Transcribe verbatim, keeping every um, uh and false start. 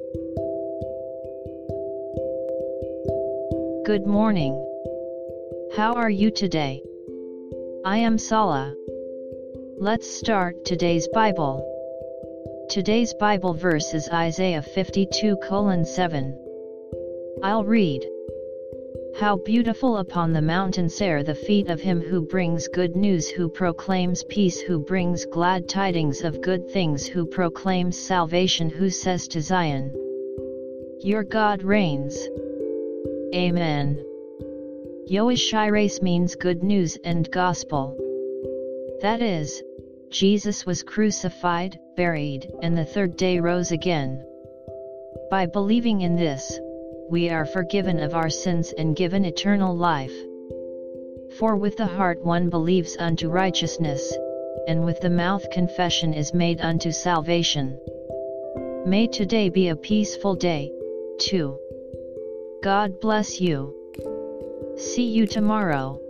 Good morning. How are you today? I am Sala. Let's start today's Bible. Today's Bible verse is Isaiah fifty-two colon seven. I'll read. How beautiful upon the mountains are the feet of him who brings good news, who proclaims peace, who brings glad tidings of good things, who proclaims salvation, who says to Zion, your God reigns. Amen. Yoashires means good news and gospel. That is, Jesus was crucified, buried, and the third day rose again. By believing in this, we are forgiven of our sins and given eternal life. For with the heart one believes unto righteousness, and with the mouth confession is made unto salvation. May today be a peaceful day, too. God bless you. See you tomorrow.